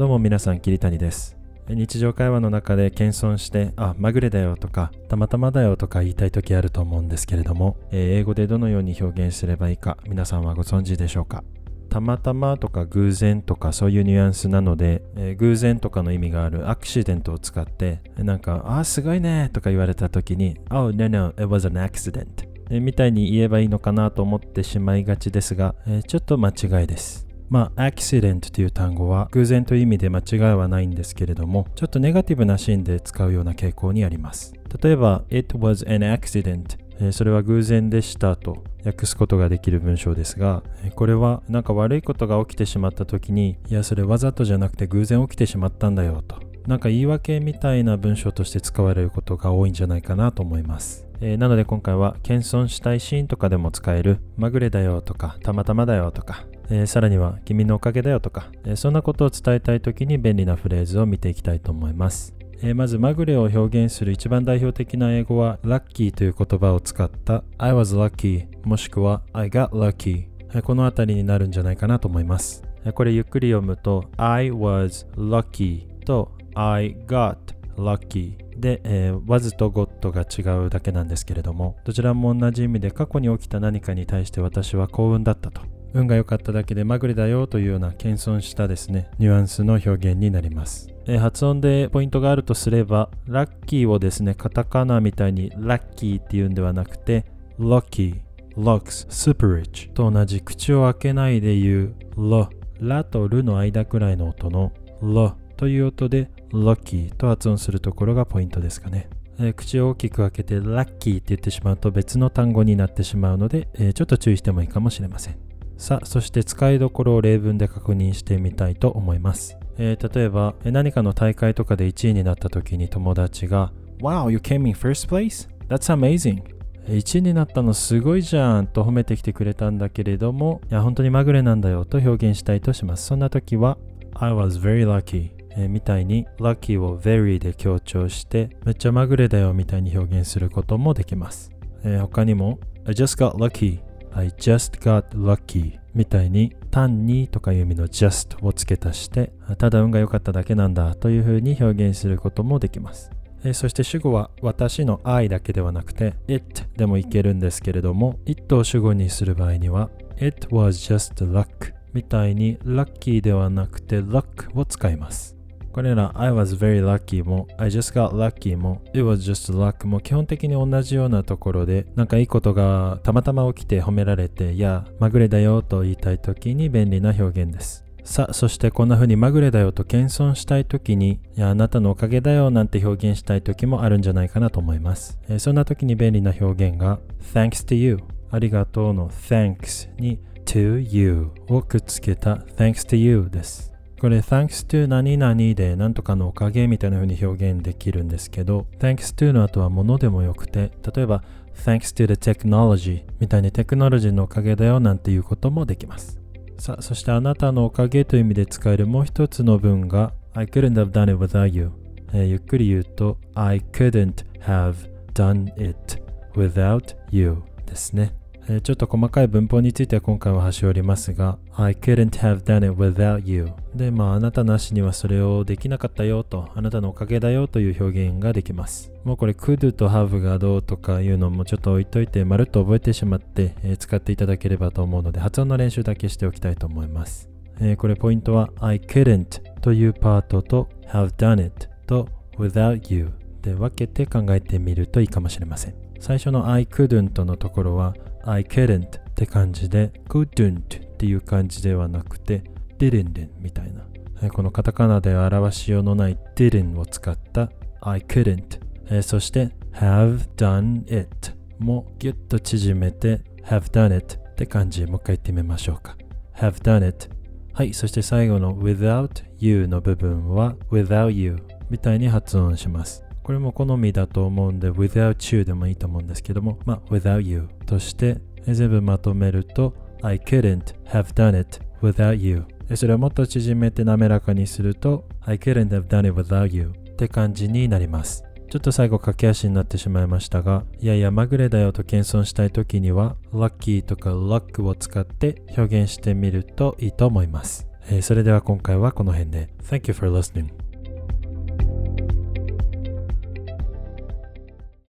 どうも皆さん、桐谷です。日常会話の中で謙遜してまぐれだよとかたまたまだよとか言いたい時あると思うんですけれども、英語でどのように表現すればいいか皆さんはご存知でしょうか。たまたまとか偶然とかそういうニュアンスなので、偶然とかの意味があるアクシデントを使ってなんかすごいねとか言われた時にOh no, it was an accident みたいに言えばいいのかなと思ってしまいがちですが、ちょっと間違いです。accident という単語は偶然という意味で間違いはないんですけれども、ちょっとネガティブなシーンで使うような傾向にあります。例えば It was an accident、それは偶然でしたと訳すことができる文章ですが、これはなんか悪いことが起きてしまった時にいやそれわざとじゃなくて偶然起きてしまったんだよとなんか言い訳みたいな文章として使われることが多いんじゃないかなと思います。なので今回は謙遜したいシーンとかでも使えるまぐれだよとかたまたまだよとか、さらには君のおかげだよとか、そんなことを伝えたいときに便利なフレーズを見ていきたいと思います。まずまぐれを表現する一番代表的な英語は lucky という言葉を使った I was lucky もしくは I got lucky、このあたりになるんじゃないかなと思います。これゆっくり読むと I was lucky と I got lucky で、was と got が違うだけなんですけれども、どちらも同じ意味で過去に起きた何かに対して私は幸運だったと、運が良かっただけでまぐれだよというような謙遜したですねニュアンスの表現になります。発音でポイントがあるとすればラッキーをですねカタカナみたいにラッキーっていうんではなくて lucky、lux、super rich と同じ口を開けないで言うラとルの間くらいの音のという音でlucky と発音するところがポイントですかね。口を大きく開けてラッキーって言ってしまうと別の単語になってしまうので、ちょっと注意してもいいかもしれません。さあ、そして使いどころを例文で確認してみたいと思います。例えば何かの大会とかで1位になった時に友達が Wow, you came in first place? That's amazing! 1位になったのすごいじゃんと褒めてきてくれたんだけれども、いや本当にまぐれなんだよと表現したいとします。そんな時は I was very luckyみたいに lucky を very で強調してめっちゃまぐれだよみたいに表現することもできます。他にも I just got lucky、I just got lucky みたいに単にとかいう意味の just を付け足してただ運が良かっただけなんだというふうに表現することもできます。そして主語は私の I だけではなくて it でもいけるんですけれども、 it を主語にする場合には it was just luck みたいに lucky ではなくて luck を使います。これら I was very lucky も I just got lucky も It was just luck も基本的に同じようなところでなんかいいことがたまたま起きて褒められていやまぐれだよと言いたいときに便利な表現です。さあ、そしてこんな風にまぐれだよと謙遜したいときにいやあなたのおかげだよなんて表現したいときもあるんじゃないかなと思います。そんなときに便利な表現が Thanks to you ありがとうの Thanks に to you をくっつけた Thanks to you です。これ Thanks to 何々でなんとかのおかげみたいな風に表現できるんですけど、 Thanks to の後はものでもよくて、例えば Thanks to the technology みたいにテクノロジーのおかげだよなんていうこともできます。さあ、そしてあなたのおかげという意味で使えるもう一つの文が I couldn't have done it without you、ゆっくり言うと I couldn't have done it without you ですね。ちょっと細かい文法については今回は端折りますが I couldn't have done it without you であなたなしにはそれをできなかったよとあなたのおかげだよという表現ができます。もうこれ could と have がどうとかいうのもちょっと置いといてまるっと覚えてしまって、使っていただければと思うので発音の練習だけしておきたいと思います。これポイントは I couldn't というパートと have done it と without you で分けて考えてみるといいかもしれません。最初の I couldn't のところはI couldn't って感じで couldn't っていう感じではなくて didn't みたいな、このカタカナで表しようのない didn't を使った I couldn't、そして have done it もギュッと縮めて have done it って感じ。もう一回言ってみましょうか。 have done it。 はい、そして最後の without you の部分は without you みたいに発音します。これも好みだと思うんで without you でもいいと思うんですけども、without you として全部まとめると I couldn't have done it without you。 それをもっと縮めて滑らかにすると I couldn't have done it without you って感じになります。ちょっと最後駆け足になってしまいましたが、いやいやまぐれだよと謙遜したい時には lucky とか luck を使って表現してみるといいと思います。 それでは今回はこの辺で。Thank you for listening.